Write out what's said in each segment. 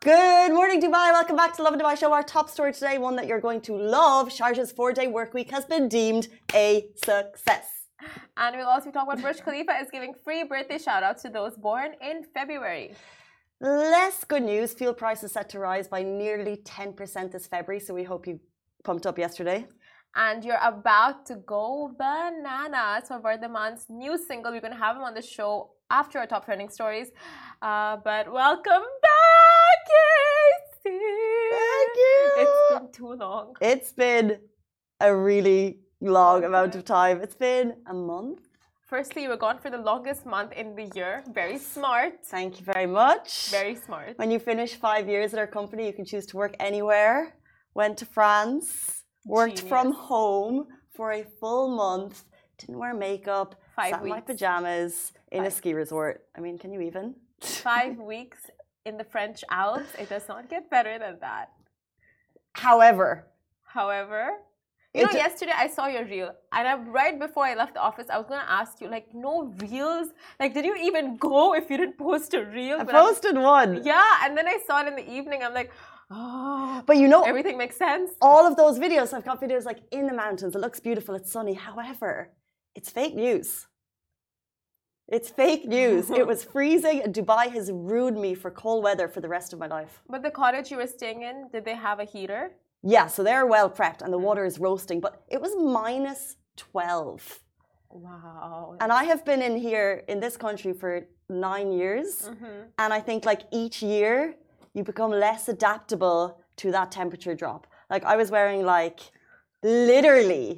Good morning, Dubai. Welcome back to Lovin Dubai Show. Our top story today, one that you're going to love. Sharjah's 4-day work week has been deemed a success. And we'll also be talking about Burj Khalifa is giving free birthday shout-outs to those born in February. Less good news. Fuel prices set to rise by nearly 10% this February, so we hope you pumped up yesterday. And you're about to go bananas for Vardhaman's new single. We're going to have him on the show after our top trending stories. But welcome back, Casey. Thank you. It's been too long. It's been a really long amount of time. It's been a month. Firstly, you were gone for the longest month in the year. Very smart. Thank you very much. Very smart. When you finish 5 years at our company, you can choose to work anywhere. Went to France, worked from home for a full month, didn't wear makeup, 5 sat in my weeks. pajamas in a ski resort. I mean, can you even? 5 weeks in the French Alps. It does not get better than that. However, you know, yesterday I saw your reel, and right before I left the office, I was going to ask you, like, no reels? Like, did you even go if you didn't post a reel? I posted one. Yeah, and then I saw it in the evening. I'm like, oh, but you know, everything makes sense. All of those videos, I've got videos like in the mountains. It looks beautiful. It's sunny. However, it's fake news. It's fake news. It was freezing, and Dubai has ruined me for cold weather for the rest of my life. But the cottage you were staying in, did they have a heater? Yeah, so they're well prepped and the water is roasting, but it was minus 12. Wow. And I have been in here in this country for 9 years. And I think like each year you become less adaptable to that temperature drop. Like I was wearing like literally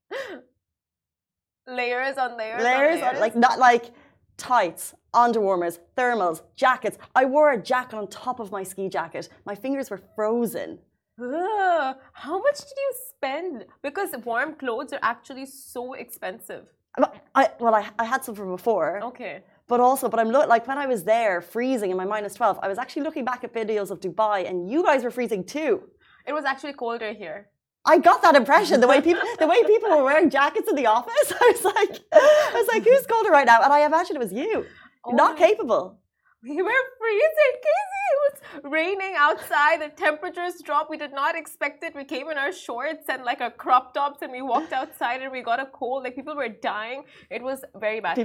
layers on layers. Layers on, like not like tights, underwarmers, thermals, jackets. I wore a jacket on top of my ski jacket. My fingers were frozen. Ugh, how much did you spend? Because warm clothes are actually so expensive. I had some from before. Okay. But I'm like when I was there freezing in my minus 12, I was actually looking back at videos of Dubai and you guys were freezing too. It was actually colder here. I got that impression the way people were wearing jackets in the office. I was like, who's colder right now? And I imagine it was you. Not capable. We were freezing, Casey. It was raining outside. The temperatures dropped. We did not expect it. We came in our shorts and like our crop tops, and we walked outside and we got a cold. Like people were dying. It was very bad.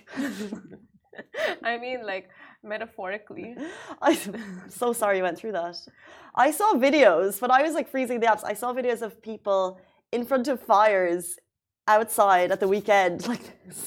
I mean, like metaphorically. I'm so sorry you went through that. I saw videos when I was like freezing in the Alps. I saw videos of people in front of fires outside at the weekend like this.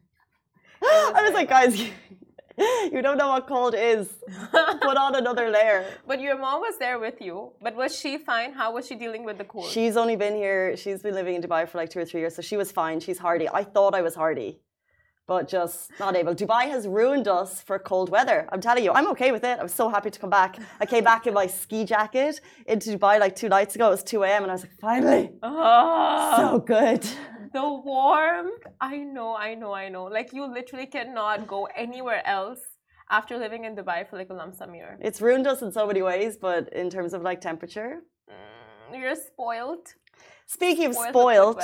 I was like, guys, you don't know what cold is. Put on another layer. But your mom was there with you. But was she fine? How was she dealing with the cold? She's only been here. She's been living in Dubai for like 2 or 3 years, so she was fine. She's hardy. I thought I was hardy, but just not able. Dubai has ruined us for cold weather. I'm telling you, I'm okay with it. I was so happy to come back. I came back in my ski jacket into Dubai like 2 nights ago. It was 2 a.m. and I was like, finally. So good. The warmth. I know. Like you literally cannot go anywhere else after living in Dubai for like a lump sum year. It's ruined us in so many ways, but in terms of like temperature. You're spoiled. Speaking of spoiled,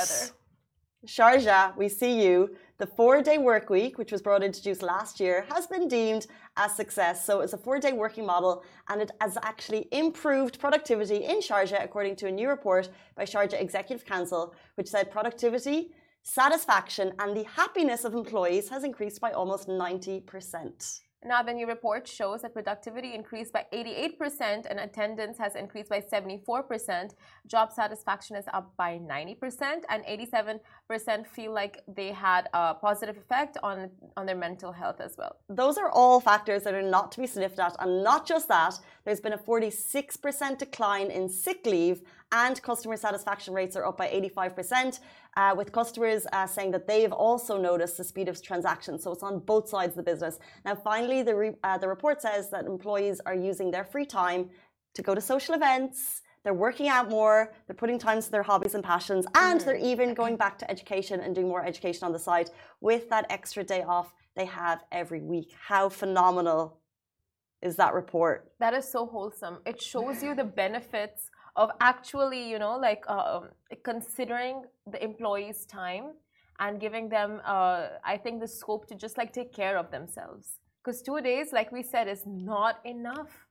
Sharjah, we see you. The 4-day work week, which was brought introduced last year, has been deemed a success. So it's a 4-day working model, and it has actually improved productivity in Sharjah, according to a new report by Sharjah Executive Council, which said productivity, satisfaction, and the happiness of employees has increased by almost 90%. Now, the new report shows that productivity increased by 88% and attendance has increased by 74%. Job satisfaction is up by 90%, and 87% feel like they had a positive effect on their mental health as well. Those are all factors that are not to be sniffed at. And not just that, there's been a 46% decline in sick leave, and customer satisfaction rates are up by 85%. With customers saying that they've also noticed the speed of transactions. So it's on both sides of the business. Now, finally, the report says that employees are using their free time to go to social events. They're working out more. They're putting time to their hobbies and passions. And they're even going back to education and doing more education on the side with that extra day off they have every week. How phenomenal is that report? That is so wholesome. It shows you the benefits of actually, you know, like considering the employees' time and giving them, I think, the scope to just like take care of themselves. Because 2 days, like we said, is not enough.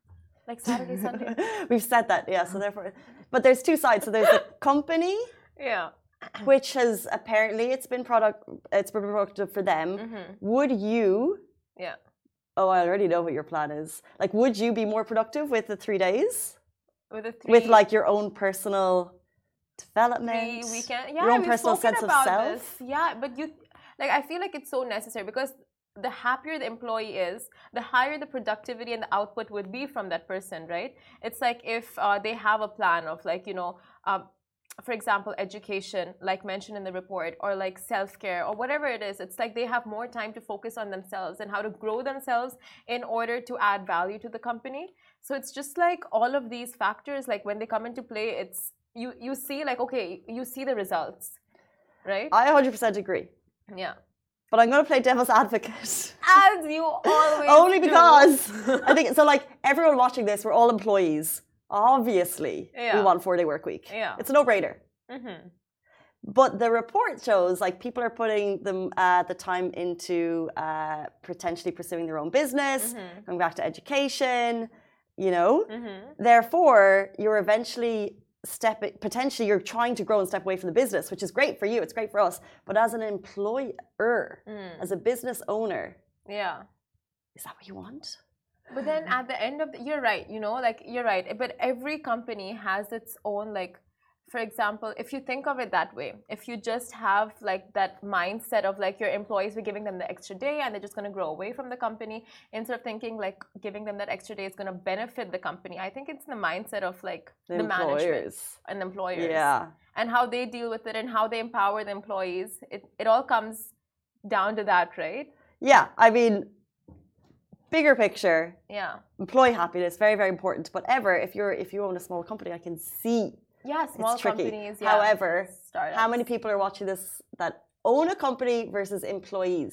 Like Saturday, Sunday. We've said that, yeah. So therefore, but there's two sides. So there's the company, Yeah. which has apparently it's been productive for them. Would you? Yeah. Oh, I already know what your plan is. Like, would you be more productive with the 3 days? With the With like your own personal development, weekend. Yeah, your own personal sense of self. This. Yeah, but like I feel like it's so necessary because the happier the employee is, the higher the productivity and the output would be from that person, right? It's like if they have a plan of like, for example, education, like mentioned in the report, or like self-care or whatever it is, it's like they have more time to focus on themselves and how to grow themselves in order to add value to the company. So it's just like all of these factors, like when they come into play, it's you see like, okay, you see the results, right? I 100% agree. Yeah. But I'm going to play devil's advocate. As you always Only because I think so. Like everyone watching this, we're all employees. Obviously, we want 4-day work week. Yeah. It's a no-brainer. But the report shows like people are putting the time into potentially pursuing their own business, going back to education. Therefore, you're eventually potentially you're trying to grow and step away from the business, which is great for you. It's great for us. But as an employer, as a business owner, is that what you want? But then at the end of you're right, like you're right. But every company has its own, like, for example, if you think of it that way, if you just have like that mindset of like your employees, we're giving them the extra day and they're just going to grow away from the company, instead of thinking like giving them that extra day is going to benefit the company. I think it's the mindset of like the management and the employers, and how they deal with it and how they empower the employees. It all comes down to that, right? Yeah, I mean, bigger picture, employee happiness, very, very important. But if you own a small company, I can see. Yeah, small companies. Yeah. However, startups. How many people are watching this that own a company versus employees?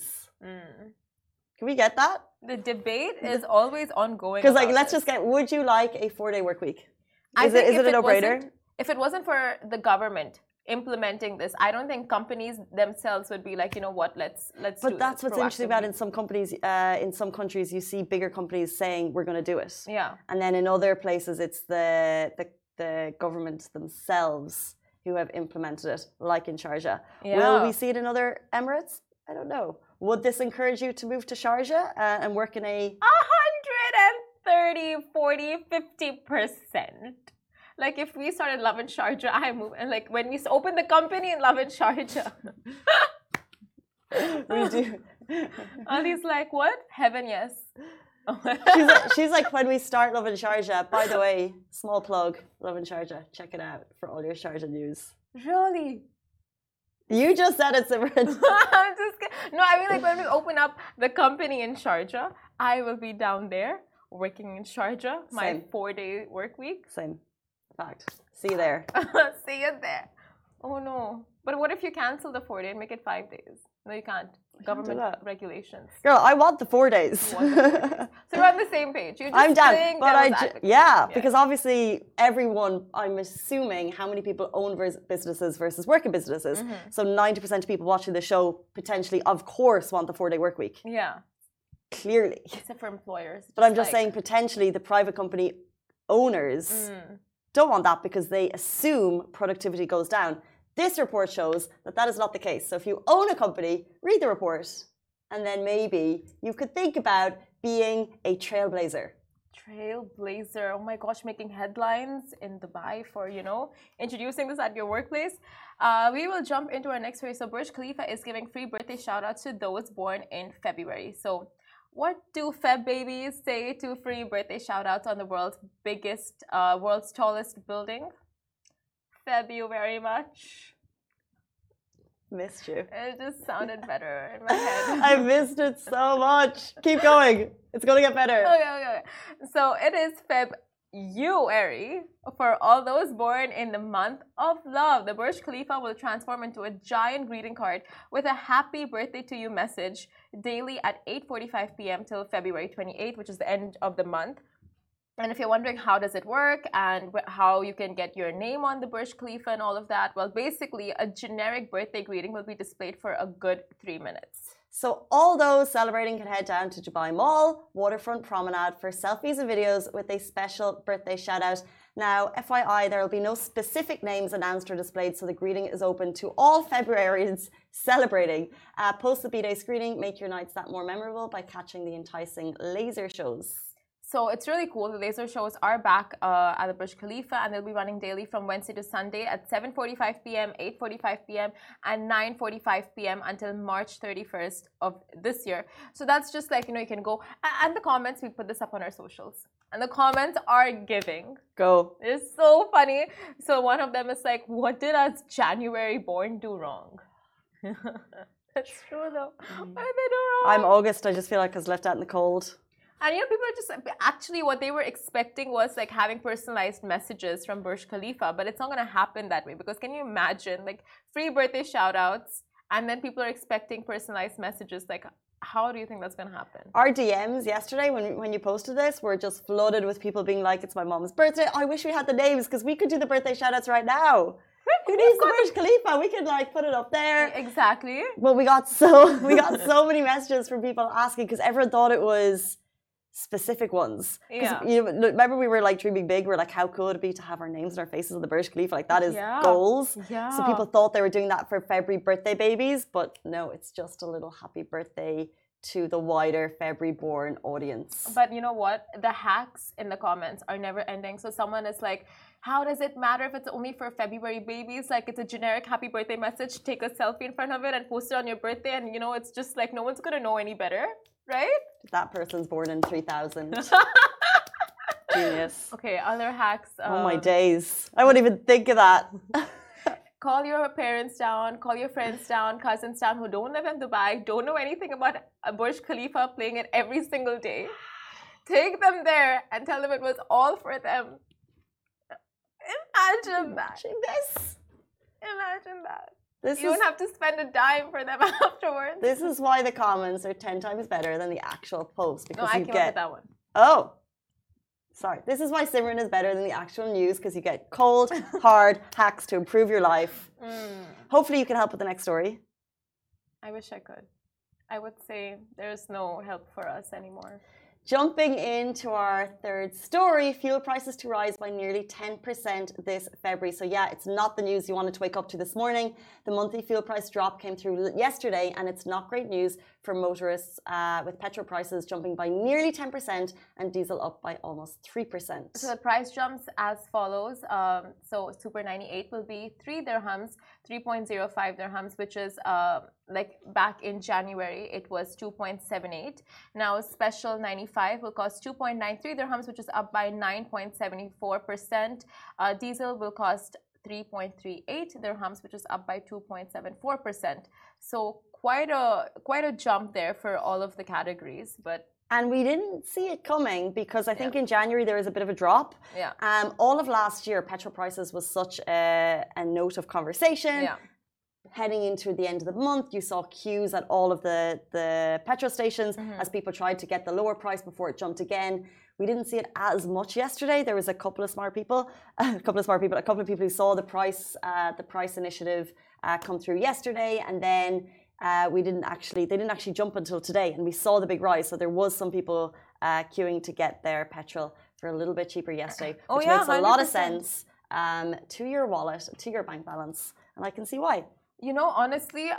Can we get that? The debate is always ongoing. Because let's just get, would you like a 4-day work week? Is it a no-brainer? If it wasn't for the government implementing this, I don't think companies themselves would be like, you know what, let's But that's what's interesting about in some companies, in some countries, you see bigger companies saying we're going to do it. Yeah. And then in other places, it's the government themselves who have implemented it, like in Sharjah. Yeah. Will we see it in other Emirates? I don't know. Would this encourage you to move to Sharjah and work in a 130, 40, 50%? Like if we started Love in Sharjah, I move, and like when we open the company in Love in Sharjah, we do. Ali's like, what? Heaven, yes. she's like, when we start Love in Sharjah, by the way, small plug, Love in Sharjah, check it out for all your Sharjah news. Really? You just said it, Simran. No, I mean like when we open up the company in Sharjah, I will be down there working in Sharjah, my 4-day work week. Same. Fact. See you there. See you there. Oh no. But what if you cancel the 4-day and make it 5 days? No, you can't. Government regulations. Girl, I want the 4 days. So we're on the same page. You're just I'm down. But because obviously everyone, I'm assuming how many people own businesses versus work in businesses. So 90% of people watching the show potentially, of course, want the 4-day work week. Yeah. Clearly. Except for employers. But I'm just saying potentially the private company owners don't want that because they assume productivity goes down. This report shows that is not the case. So if you own a company, read the report, and then maybe you could think about being a trailblazer. Trailblazer. Oh my gosh, making headlines in Dubai for, introducing this at your workplace. We will jump into our next story. So Burj Khalifa is giving free birthday shout-outs to those born in February. So what do Feb babies say to free birthday shout-outs on the world's tallest building? Feb you very much. Missed you. It just sounded better in my head. I missed it so much. Keep going. It's going to get better. Okay. So it is February for all those born in the month of love. The Burj Khalifa will transform into a giant greeting card with a happy birthday to you message daily at 8:45 p.m. till February 28th, which is the end of the month. And if you're wondering how does it work and how you can get your name on the Burj Khalifa and all of that, well, basically a generic birthday greeting will be displayed for a good 3 minutes. So all those celebrating can head down to Dubai Mall, Waterfront Promenade for selfies and videos with a special birthday shout out. Now, FYI, there will be no specific names announced or displayed, so the greeting is open to all Februarians celebrating. Post the B-Day screening, make your nights that more memorable by catching the enticing laser shows. So it's really cool. The laser shows are back at the Burj Khalifa, and they'll be running daily from Wednesday to Sunday at 7:45 p.m., 8:45 p.m., and 9:45 p.m. until March 31st of this year. So that's just like, you can go. And the comments, we put this up on our socials. And the comments are giving. Go. It's so funny. So one of them is like, what did us January born do wrong? That's true though. What did they do wrong? I'm August. I just feel like I was left out in the cold. And people are just actually what they were expecting was like having personalized messages from Burj Khalifa, but it's not going to happen that way because can you imagine like free birthday shout outs and then people are expecting personalized messages? Like, how do you think that's going to happen? Our DMs yesterday when you posted this were just flooded with people being like, it's my mom's birthday. I wish we had the names because we could do the birthday shout outs right now. Who needs the Burj Khalifa? We could like put it up there. Exactly. Well, we got so many messages from people asking because everyone thought it was specific ones. Yeah. Remember we were like dreaming big. We're like, how cool would it be to have our names and our faces on the Burj Khalifa? Like that is goals. Yeah. So people thought they were doing that for February birthday babies, but no, it's just a little happy birthday to the wider February born audience. But you know what? The hacks in the comments are never ending. So someone is like, how does it matter if it's only for February babies? Like it's a generic happy birthday message. Take a selfie in front of it and post it on your birthday. And it's just like no one's going to know any better. Right? That person's born in 3000. Genius. Okay, other hacks. Oh my days. I wouldn't even think of that. Call your parents down, call your friends down, cousins down who don't live in Dubai, don't know anything about Burj Khalifa, playing it every single day. Take them there and tell them it was all for them. Imagine that. This. Imagine that. You don't have to spend a dime for them afterwards. This is why the comments are 10 times better than the actual post. Because I came up with that one. Oh. Sorry. This is why Simran is better than the actual news because you get cold, hard hacks to improve your life. Hopefully you can help with the next story. I wish I could. I would say there's no help for us anymore. Jumping into our third story, fuel prices to rise by nearly 10% this February. So yeah, it's not the news you wanted to wake up to this morning. The monthly fuel price drop came through yesterday and it's not great news for motorists with petrol prices jumping by nearly 10% and diesel up by almost 3%. So the price jumps as follows. So Super 98 will be 3 dirhams, 3.05 dirhams, which is like back in January, it was 2.78. Now Special 95 will cost 2.93 dirhams, which is up by 9.74%. Diesel will cost 3.38 dirhams, which is up by 2.74%. So quite a jump there for all of the categories, but. And we didn't see it coming because I think in January there was a bit of a drop. Yeah. All of last year, petrol prices was such a note of conversation. Yeah. Heading into the end of the month, you saw queues at all of the petrol stations as people tried to get the lower price before it jumped again. We didn't see it as much yesterday. There was a couple of people who saw the price initiative come through yesterday, and then they didn't actually jump until today, and we saw the big rise. So there was some people queuing to get their petrol for a little bit cheaper yesterday, which makes a lot of sense to your wallet, to your bank balance, and I can see why. Honestly,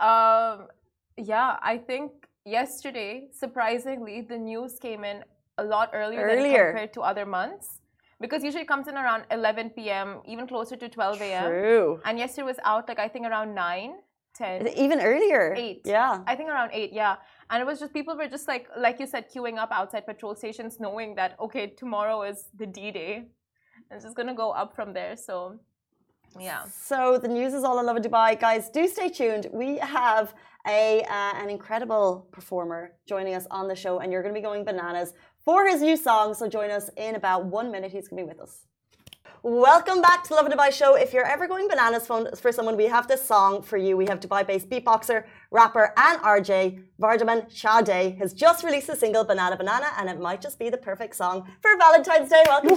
I think yesterday, surprisingly, the news came in a lot earlier than compared to other months. Because usually it comes in around 11 p.m., even closer to 12 a.m. True. And yesterday was out, like, I think around 9, 10. Even earlier. 8. Yeah. I think around 8, yeah. And it was just, people were just like you said, queuing up outside petrol stations, knowing that, okay, tomorrow is the D-Day. And it's just going to go up from there, so... Yeah. So the news is all in love in Dubai. Guys, do stay tuned. We have an incredible performer joining us on the show, and you're going to be going bananas for his new song. So join us in about 1 minute. He's going to be with us. Welcome back to the Lovin Dubai show. If you're ever going bananas for someone, we have this song for you. We have Dubai-based beatboxer, rapper, and RJ Vardaman Shade has just released a single, Banana Banana, and it might just be the perfect song for Valentine's Day. Welcome.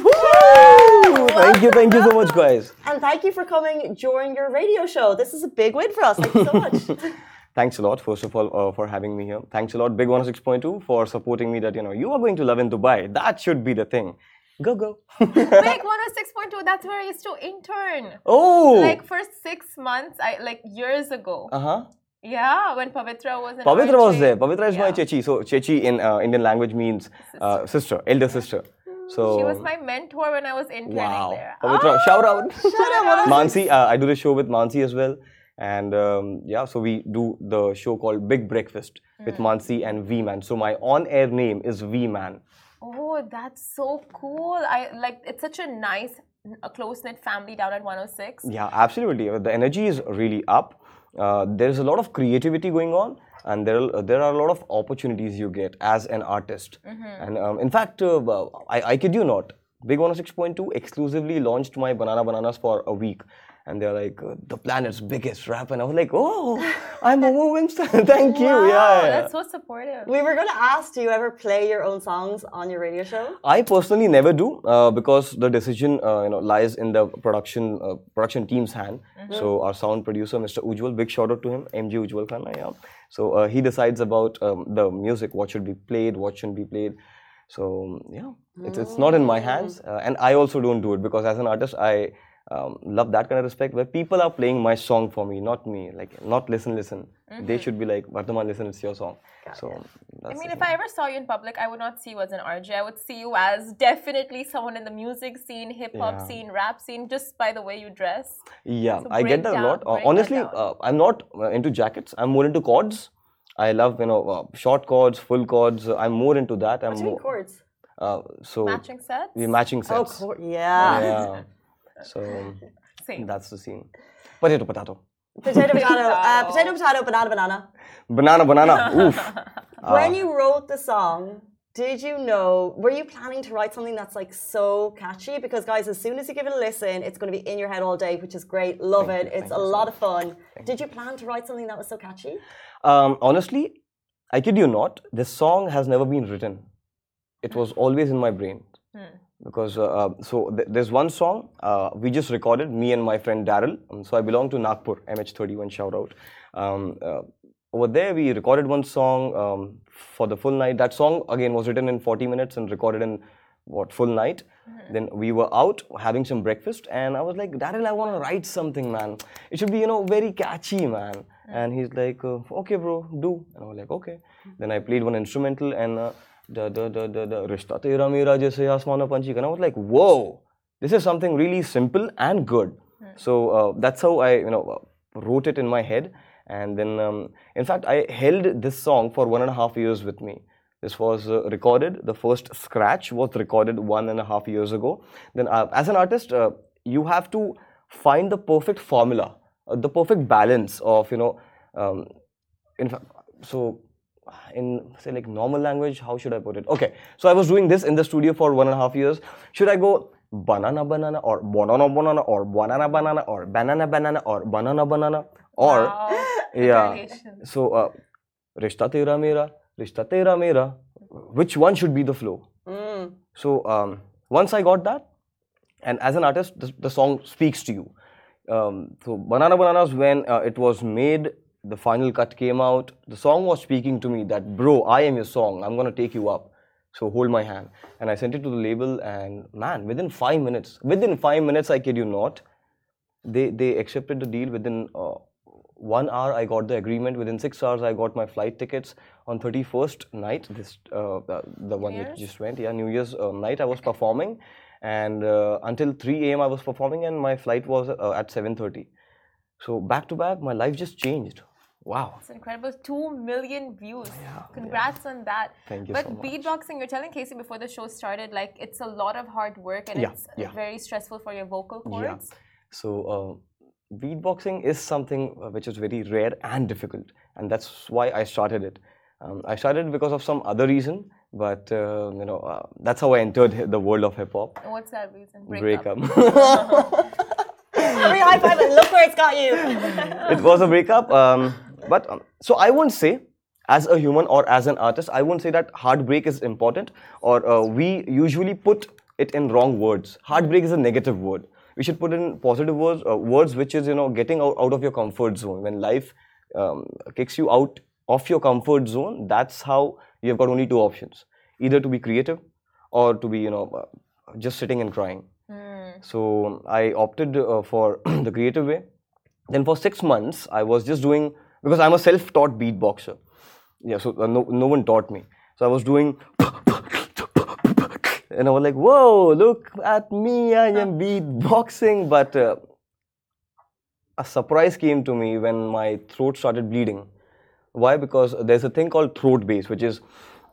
Thank you so much, guys. And thank you for coming during your radio show. This is a big win for us. Thank you so much. Thanks a lot, first of all, for having me here. Thanks a lot, Big 106.2, for supporting me that, you are going to Love in Dubai. That should be the thing. Go, go. Big 106.2, that's where I used to intern. Oh! Like for 6 months, years ago. Uh-huh. Yeah, when Pavitra was in Pavitra was RJ. there. Pavitra is my Yeah. Chechi. So, Chechi in Indian language means sister, elder sister. So, She was my mentor when I was interning wow. there. Pavitra, shout out. Shout out. Mansi, I do the show with Mansi as well. And yeah, so we do the show called Big Breakfast with Mansi and V-Man. So my on-air name is V-Man. Oh, that's so cool. It's such a nice, close-knit family down at 106. Yeah, absolutely. The energy is really up. There's a lot of creativity going on, and there are a lot of opportunities you get as an artist. And in fact, I kid you not, Big 106.2 exclusively launched my Banana Bananas for a week. And they're like, the planet's biggest rap. And I was like, oh, I'm a woman. Thank you. Wow, Yeah. that's so supportive. We were going to ask, do you ever play your own songs on your radio show? I personally never do because the decision lies in the production team's hand. So our sound producer, Mr. Ujjwal, big shout out to him, MG Ujjwal Khanna. Yeah. So he decides about the music, what should be played, what shouldn't be played. So yeah, it's not in my hands, and I also don't do it because as an artist, I love that kind of respect where people are playing my song for me, not me. Like not listen. They should be like, Vardhaman, listen, it's your song. So that's If I ever saw you in public, I would not see you as an RJ. I would see you as definitely someone in the music scene, hip hop Yeah. scene, rap scene, just by the way you dress. Yeah, So I get break that a lot. down, break that Honestly, down. I'm not into jackets. I'm more into chords. I love short chords, full chords. I'm more into that. I'm What do you mean more chords? so Matching sets? we're matching Oh, sets. yeah. Yeah. So Same. that's the scene. Potato, potato. Potato, potato, banana. Banana. Oof. When you wrote the song, did you know, were you planning to write something that's like so catchy? Because guys, as soon as you give it a listen, it's going to be in your head all day, which is great. Love Thank it. you, It's thank a you so lot much. of fun. Did you plan to write something that was so catchy? Honestly, I kid you not, this song has never been written. It was always in my brain. Because there's one song we just recorded, me and my friend Daryl. So I belong to Nagpur, MH31 shout out. Over there we recorded one song for the full night. That song again was written in 40 minutes and recorded in full night. Then we were out having some breakfast and I was like, Daryl, I want to write something, man. It should be very catchy, man. And he's like, okay bro, do. And I was like, okay. Then I played one instrumental and the Rishta Tera Mera Jaise Aasmano Panchi. And I was like, whoa, this is something really simple and good. So that's how I wrote it in my head. And then in fact I held this song for 1.5 years with me. This was recorded, the first scratch was recorded 1.5 years ago. Then as an artist, you have to find the perfect formula, the perfect balance of, in fact, so in say like normal language, how should I put it? Okay, so I was doing this in the studio for 1.5 years. Should I go banana banana or banana banana or banana banana or banana banana or banana banana or Wow. yeah? Variations. So Rishta Tera Mera, Rishta Tera Mera. Which one should be the flow? So once I got that, and as an artist, the song speaks to you. So Banana Bananas, when it was made, the final cut came out. The song was speaking to me that, bro, I am your song. I'm gonna take you up. So hold my hand. And I sent it to the label, and man, within 5 minutes, I kid you not, they accepted the deal. Within 1 hour, I got the agreement. Within 6 hours, I got my flight tickets. On 31st night, the one which just went, New Year's night, I was performing. And until 3 a.m. I was performing, and my flight was at 7:30. So back to back, my life just changed. Wow. It's incredible. 2 million views. Congrats on that. Thank you but so much. beatboxing, you're telling Casey before the show started, like it's a lot of hard work and it's very stressful for your vocal cords. Yeah. So beatboxing is something which is very rare and difficult, and that's why I started it. I started it because of some other reason, but that's how I entered the world of hip hop. What's that reason? Breakup. Bring a high five and look where it's got you. It was a breakup. But so I won't say, as a human or as an artist, I won't say that heartbreak is important, or we usually put it in wrong words. Heartbreak is a negative word. We should put in positive words, words which is getting out of your comfort zone when life kicks you out of your comfort zone, that's how you've got only two options: either to be creative or to be, just sitting and crying. So I opted for the creative way. Then for 6 months, I was just doing, because I'm a self-taught beatboxer. Yeah, so no one taught me. So I was doing, and I was like, whoa, look at me, I am beatboxing. But a surprise came to me when my throat started bleeding. Why? Because there's a thing called throat bass, which is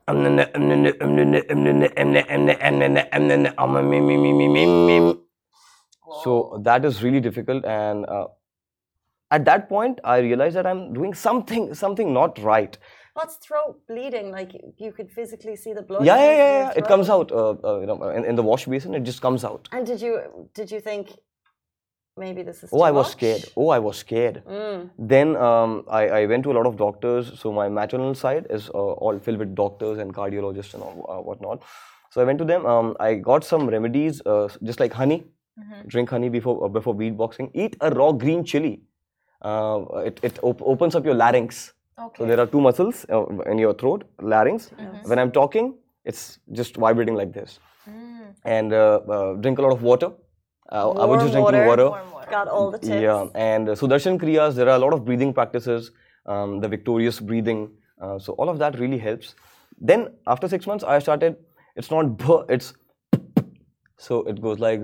so that is really difficult. And at that point, I realized that I'm doing something not right. What's throat bleeding? Like you could physically see the blood? Yeah. It comes out. In the wash basin, it just comes out. And did you think maybe this is? Oh, I was scared. Then I went to a lot of doctors. So my maternal side is all filled with doctors and cardiologists and all, whatnot. So I went to them. I got some remedies, just like honey. Drink honey before beatboxing. Eat a raw green chili. It opens up your larynx. Okay. So there are two muscles in your throat, larynx. When I'm talking, it's just vibrating like this. And drink a lot of water. I was just drinking water. Got all the tips. Yeah, and Sudarshan Kriyas, there are a lot of breathing practices, the victorious breathing. So all of that really helps. Then after 6 months, I started, it's not b, it's so it goes like.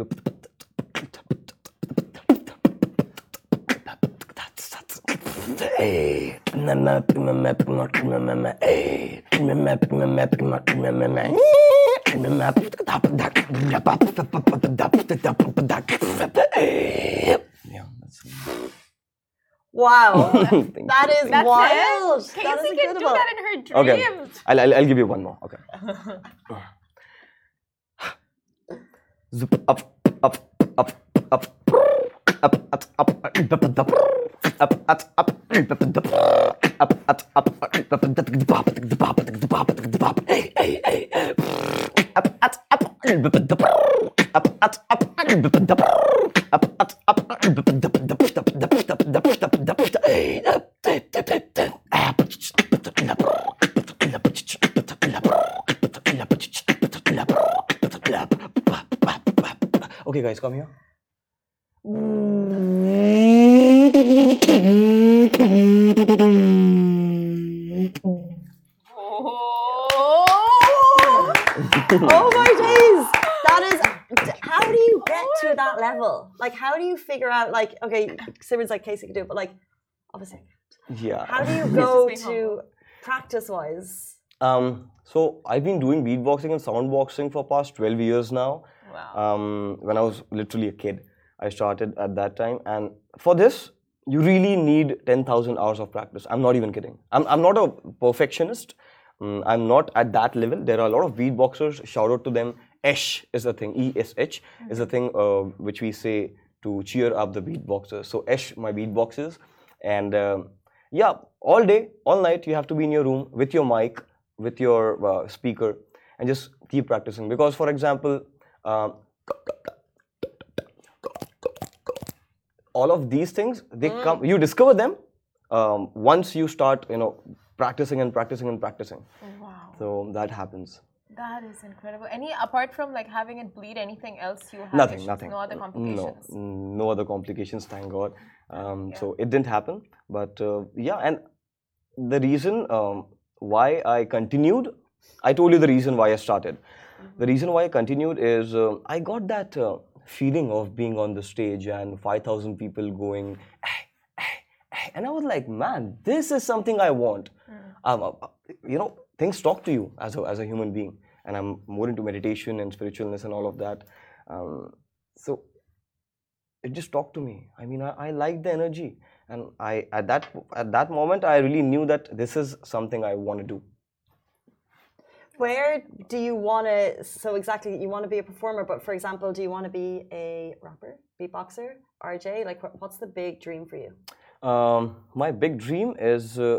Wow, that is That's wild. it. That is Casey can do incredible. that in her dreams. Okay, I'll give you one more. Okay. Zup, up, up, up, up. Up, up, up, up, up, okay, guys, come here. Oh my days! That is. How do you get to that level? Like, how do you figure out? Like, okay, Simran's like Casey can do it, but like, obviously, yeah. how do you go to practice-wise? So I've been doing beatboxing and soundboxing for past 12 years now. Wow. When I was literally a kid, I started at that time, and for this, you really need 10,000 hours of practice. I'm not even kidding. I'm not a perfectionist. I'm not at that level. There are a lot of beatboxers. Shout out to them. Esh is the thing. ESH is the thing which we say to cheer up the beatboxers. So Esh, my beatboxers, and yeah, all day, all night, you have to be in your room with your mic, with your speaker, and just keep practicing. Because, for example, all of these things, they come, you discover them once you start, practicing and practicing and practicing. Wow. So that happens. That is incredible. Apart from like having it bleed, anything else you have? Nothing. No other complications? No other complications, thank God. So it didn't happen. But yeah, and the reason why I continued, I told you the reason why I started. The reason why I continued is I got that feeling of being on the stage and 5,000 people going, and I was like, man, this is something I want. Things talk to you as a human being, and I'm more into meditation and spiritualness and all of that. So it just talked to me. I mean, I like the energy, and at that moment I really knew that this is something I want to do. Where do you want to, so exactly, you want to be a performer, but for example, do you want to be a rapper, beatboxer, RJ? Like, what's the big dream for you? My big dream is, oh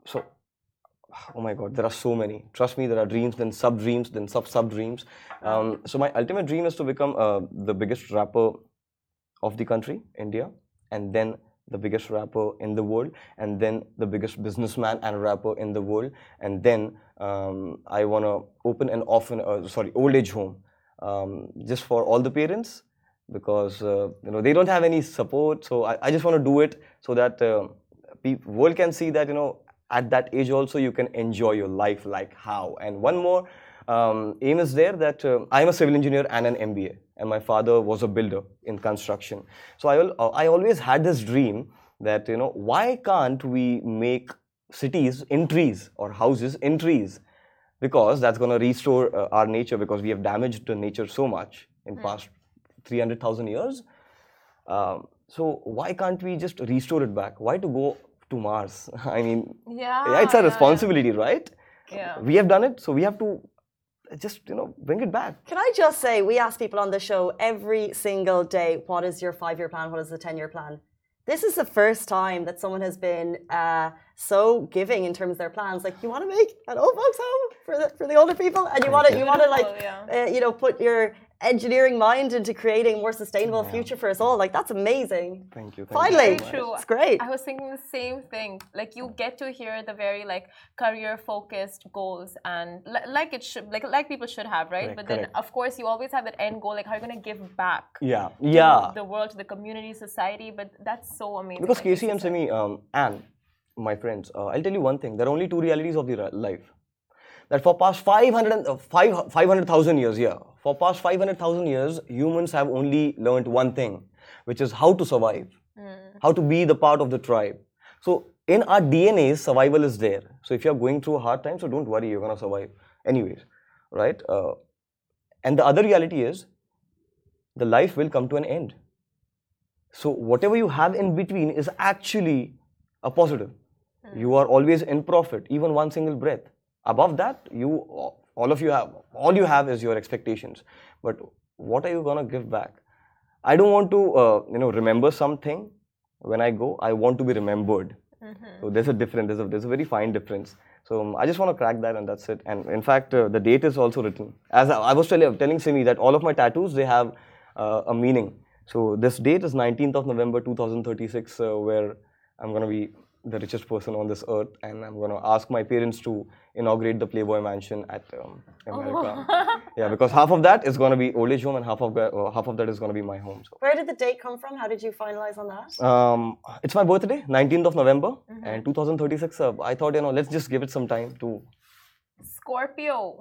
my God, there are so many. Trust me, there are dreams, then sub-dreams, then sub-sub-dreams. So my ultimate dream is to become the biggest rapper of the country, India, and then the biggest rapper in the world, and then the biggest businessman and rapper in the world, and then I want to open an old age home, just for all the parents, because they don't have any support. So I just want to do it so that world can see that at that age also you can enjoy your life like how. And one more aim is there, that I am a civil engineer and an MBA, and my father was a builder in construction. So I always had this dream that why can't we make cities in trees or houses in trees, because that's going to restore our nature, because we have damaged the nature so much in past 300,000 years. So why can't we just restore it back? Why to go to Mars? I mean, yeah, it's a responsibility, right? Yeah. We have done it, so we have to just bring it back. Can I just say, we ask people on the show every single day, what is your 5-year plan? What is the 10-year plan? This is the first time that someone has been so giving in terms of their plans. Like, you want to make an old folks home for the older people, and you want to like put your engineering mind into creating a more sustainable future for us all. Like, that's amazing. Thank you. Finally, very true. It's great. I was thinking the same thing. Like, you get to hear the very career focused goals, and like it should, like people should have, right? But then of course you always have that end goal, like how are you going to give back to the world, to the community, society. But that's so amazing. Because Casey and Simi and my friends, I'll tell you one thing, there are only two realities of the life. That for past 500,000 years, for past 500,000 years, humans have only learned one thing, which is how to survive, how to be the part of the tribe. So in our DNA, survival is there. So if you're going through a hard time, so don't worry, you're going to survive anyways, right? And the other reality is, the life will come to an end. So whatever you have in between is actually a positive. You are always in profit, even one single breath. Above that, all you have is your expectations. But what are you gonna give back? I don't want to, remember something when I go. I want to be remembered. So there's a difference. There's a very fine difference. So I just want to crack that, and that's it. And in fact, the date is also written. As I was telling Simi that all of my tattoos, they have a meaning. So this date is 19th of November 2036, where I'm gonna be the richest person on this earth, and I'm going to ask my parents to inaugurate the Playboy Mansion at America. Yeah, because half of that is going to be old age home, and half of that is going to be my home. So. Where did the date come from? How did you finalize on that? It's my birthday, 19th of November, and 2036. I thought, let's just give it some time to. Scorpio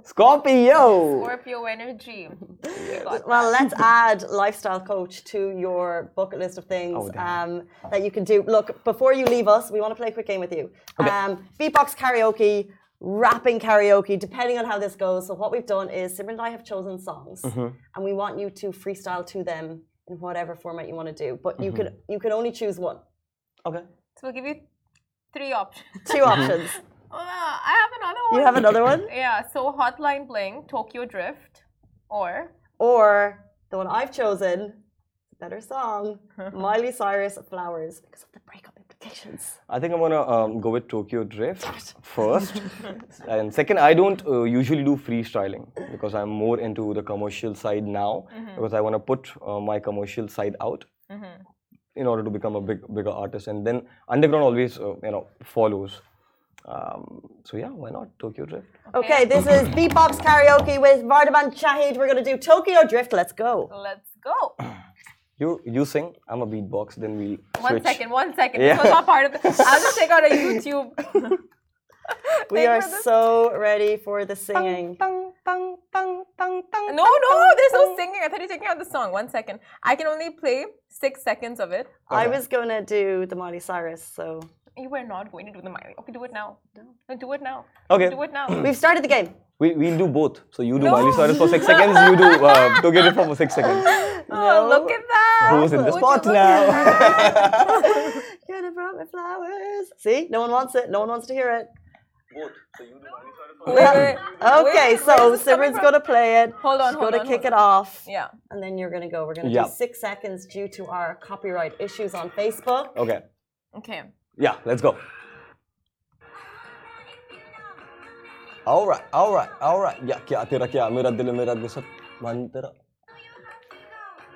energy. Well, let's add lifestyle coach to your bucket list of things that you can do. Look, before you leave us, we want to play a quick game with you. Okay. Beatbox karaoke, rapping karaoke, depending on how this goes. So what we've done is Simran and I have chosen songs, and we want you to freestyle to them in whatever format you want to do. But you can only choose one. Okay. So we'll give you 3 options. 2 options. I have another one. You have another one? Yeah, so Hotline Bling, Tokyo Drift, or the one I've chosen, better song, Miley Cyrus, Flowers, because of the breakup implications. I think I'm gonna go with Tokyo Drift first, and second, I don't usually do freestyling because I'm more into the commercial side now, because I want to put my commercial side out in order to become a bigger artist, and then underground always follows. So yeah, why not Tokyo Drift? Okay, this is Beatbox Karaoke with Vardaman Shahid. We're going to do Tokyo Drift. Let's go. Let's go. You sing, I'm a beatbox, then we switch. One second. Yeah. This was not part of the... I'll just take out a YouTube. We are so ready for the singing. No, there's no singing. I thought you were taking out the song. 1 second. I can only play 6 seconds of it. Okay. I was going to do the Miley Cyrus, so... You were not going to do the Miley. Okay, do it now. No, do it now. Okay. Do it now. We've started the game. We'll do both. So you do Miley Cyrus for 6 seconds, you do Tokyo Drift for 6 seconds. Oh, look at that. Who's in the spot now? Gonna brought me flowers. See? No one wants it. No one wants to hear it. Both. So you do Miley Cyrus for Okay, so Simran's going to play it. Hold on, She's going to kick it off. Yeah. And then you're going to go. We're going to do 6 seconds due to our copyright issues on Facebook. Okay. Yeah, let's go. All right. Yeah, kya tera kya mera dil mera gusat man tera.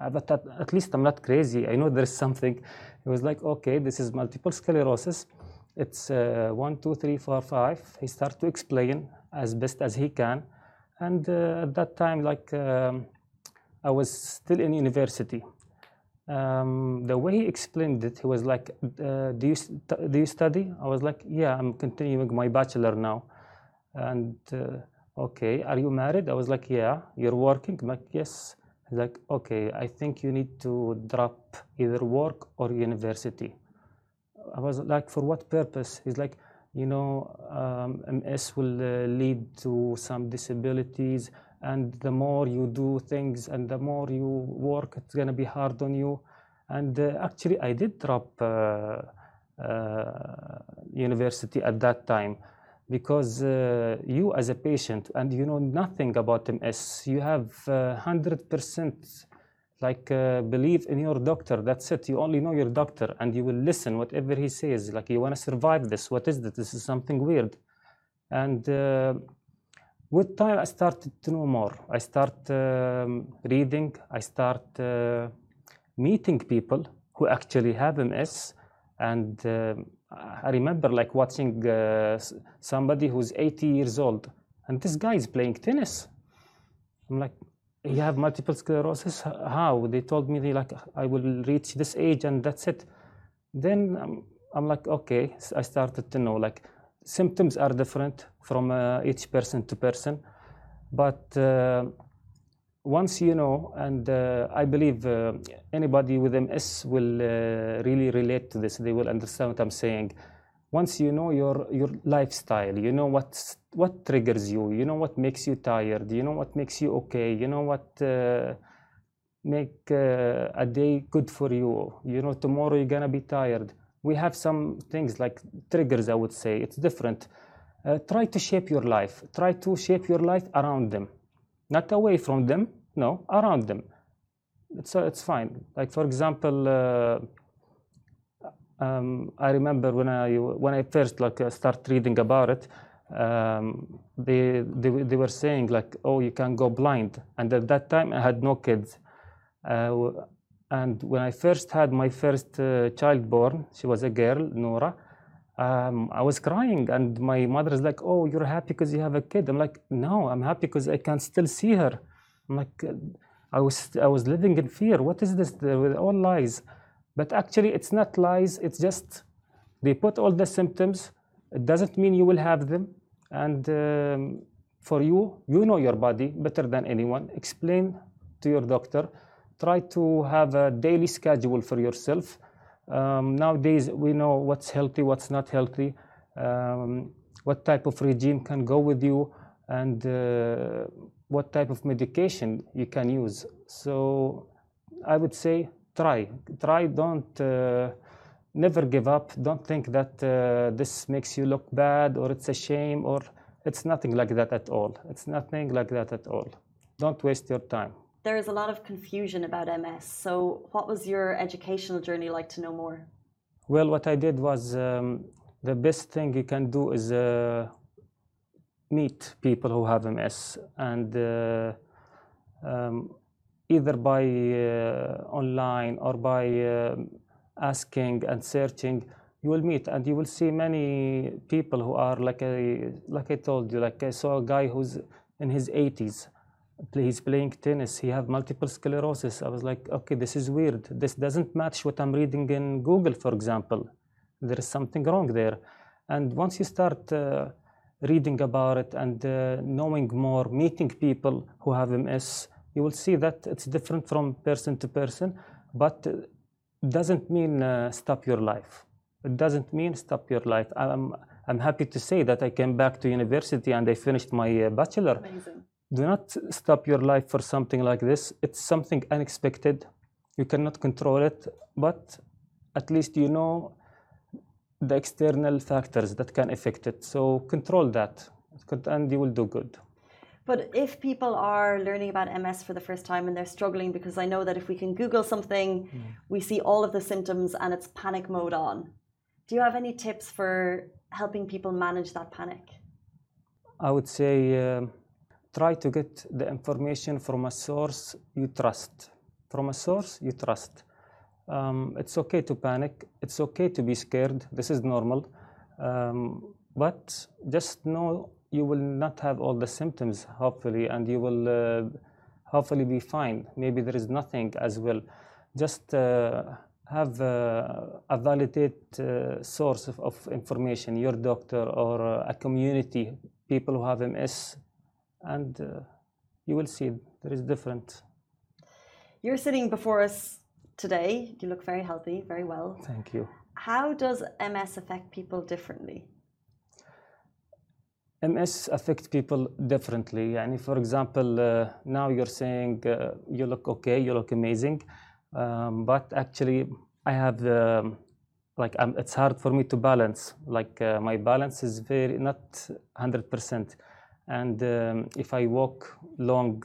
but at least I'm not crazy. I know there's something. He was like, okay, this is multiple sclerosis. It's 1, 2, 3, 4, 5. He started to explain as best as he can. And at that time, like I was still in university. The way he explained it, he was like, do you study? I was like, yeah, I'm continuing my bachelor now. And okay, are you married? I was like, yeah. You're working? I'm like, yes. He's like, okay, I think you need to drop either work or university. I was like, for what purpose? He's like, you know, MS will lead to some disabilities, and the more you do things and the more you work, it's going to be hard on you. And actually, I did drop university at that time, because you as a patient, and you know nothing about MS, you have 100% like believe in your doctor. That's it. You only know your doctor, and you will listen whatever he says. Like, you want to survive this. What is this? This is something weird. And with time, I started to know more. I start reading. I start meeting people who actually have MS. And I remember like watching somebody who's 80 years old, and this guy is playing tennis. I'm like, you have multiple sclerosis? How? They told me, like, I will reach this age and that's it. Then I'm like, okay. So I started to know, like, symptoms are different from each person to person. But once you know, and I believe anybody with MS will really relate to this. They will understand what I'm saying. Once you know your lifestyle, you know what triggers you, you know what makes you tired, you know what makes you okay, you know what make a day good for you. You know, tomorrow you're gonna be tired. We have some things like triggers, I would say. It's different. Try to shape your life. Try to shape your life around them. Not away from them, no, around them. It's fine. Like, for example, I remember when I first start reading about it, they were saying like, oh, you can go blind. And at that time, I had no kids. And when I first had my first child born, she was a girl, Noura. I was crying, and my mother is like, oh, you're happy because you have a kid. I'm like, no, I'm happy because I can still see her. I'm like, I was living in fear. What is this? With all lies. But actually, it's not lies. It's just they put all the symptoms. It doesn't mean you will have them. And for you, you know your body better than anyone. Explain to your doctor. Try to have a daily schedule for yourself. Nowadays, we know what's healthy, what's not healthy, what type of regime can go with you, and what type of medication you can use. So I would say try, don't never give up. Don't think that this makes you look bad or it's a shame, or it's nothing like that at all. It's nothing like that at all. Don't waste your time. There is a lot of confusion about MS. So what was your educational journey like to know more? Well, what I did was the best thing you can do is meet people who have MS, and either by online or by asking and searching, you will meet and you will see many people who are like I told you, like I saw a guy who's in his 80s. He's playing tennis. He has multiple sclerosis. I was like, okay, this is weird. This doesn't match what I'm reading in Google, for example. There is something wrong there. And once you start reading about it and knowing more, meeting people who have MS, you will see that it's different from person to person, but it doesn't mean stop your life. It doesn't mean stop your life. I'm happy to say that I came back to university and I finished my bachelor. Amazing. Do not stop your life for something like this. It's something unexpected. You cannot control it, but at least you know the external factors that can affect it. So control that, and you will do good. But if people are learning about MS for the first time and they're struggling, because I know that if we can Google something, we see all of the symptoms and it's panic mode on. Do you have any tips for helping people manage that panic? I would say try to get the information from a source you trust. from a source you trust. It's okay to panic. It's okay to be scared. This is normal. But just know you will not have all the symptoms, hopefully, and you will hopefully be fine. Maybe there is nothing as well. Just have a validated source of information, your doctor or a community, people who have MS, and you will see there is different. You're sitting before us today. You look very healthy, very well. Thank you. How does MS affect people differently? MS affects people differently. And for example, now you're saying you look okay, you look amazing, but actually I have it's hard for me to balance. My balance is not 100%. And if I walk long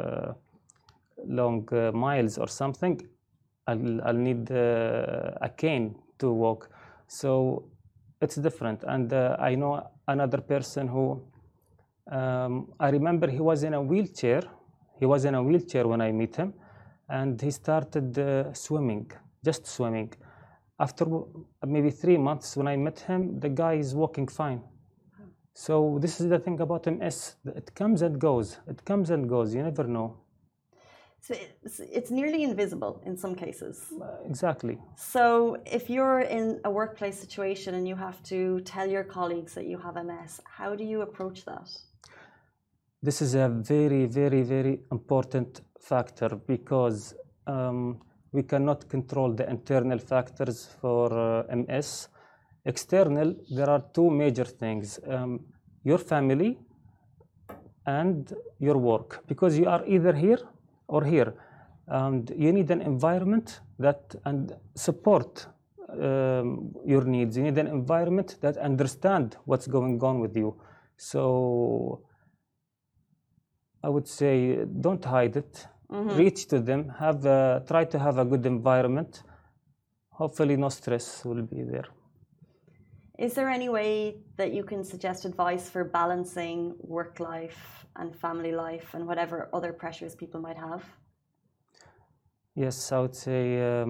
miles or something, I'll need a cane to walk. So it's different. And I know another person who, I remember he was in a wheelchair. He was in a wheelchair when I met him, and he started swimming, just swimming. After maybe 3 months when I met him, the guy is walking fine. So this is the thing about MS. It comes and goes. It comes and goes. You never know. So it's nearly invisible in some cases. Exactly. So if you're in a workplace situation and you have to tell your colleagues that you have MS, how do you approach that? This is a very, very, very important factor because we cannot control the internal factors for MS. External, there are two major things. Your family and your work, because you are either here or here. And you need an environment that and support your needs. You need an environment that understand what's going on with you. So I would say don't hide it. Reach to them. Try to have a good environment. Hopefully no stress will be there. Is there any way that you can suggest advice for balancing work life and family life and whatever other pressures people might have? Yes, I would say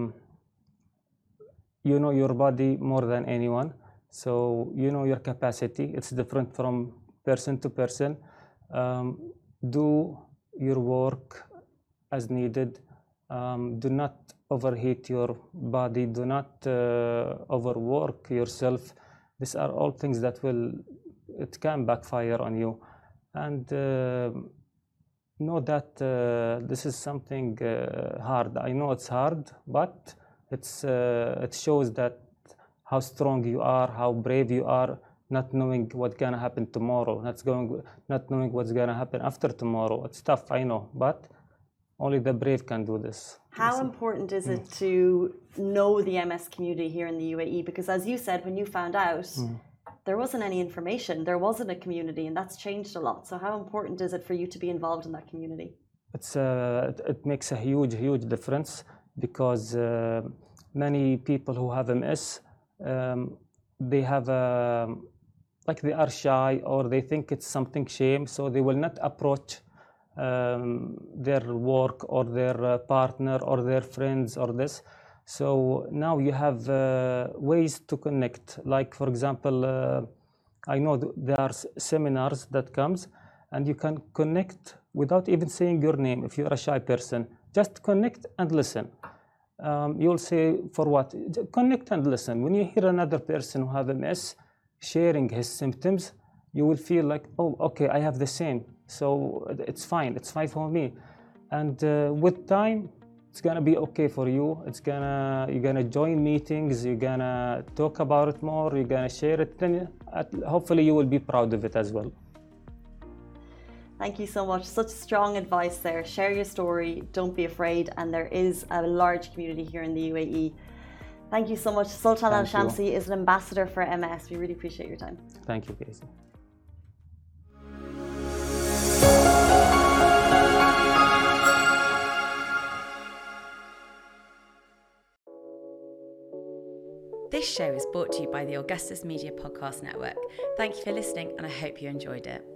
you know your body more than anyone. So you know your capacity. It's different from person to person. Do your work as needed. Do not overheat your body. Do not overwork yourself. These are all things that it can backfire on you. And know that this is something hard. I know it's hard, but it shows that how strong you are, how brave you are, not knowing what's gonna happen tomorrow, not knowing what's gonna happen after tomorrow. It's tough, I know, but only the brave can do this. How important is it to know the MS community here in the UAE? Because as you said, when you found out, there wasn't any information, there wasn't a community, and that's changed a lot. So how important is it for you to be involved in that community? It makes a huge, huge difference because many people who have MS, they have they are shy or they think it's something shame, so they will not approach their work or their partner or their friends or this. So now you have ways to connect. Like for example, I know there are seminars that comes and you can connect without even saying your name. If you're a shy person, just connect and listen. You'll say for what? Connect and listen. When you hear another person who have MS sharing his symptoms, you will feel like, oh, okay, I have the same. So it's fine for me. And with time, it's gonna be okay for you. You're gonna join meetings, you're gonna talk about it more, you're gonna share it. Then hopefully you will be proud of it as well. Thank you so much. Such strong advice there. Share your story, don't be afraid. And there is a large community here in the UAE. Thank you so much. Sultan Al Shamsi is an ambassador for MS. We really appreciate your time. Thank you, Casey. This show is brought to you by the Augustus Media Podcast Network. Thank you for listening, and I hope you enjoyed it.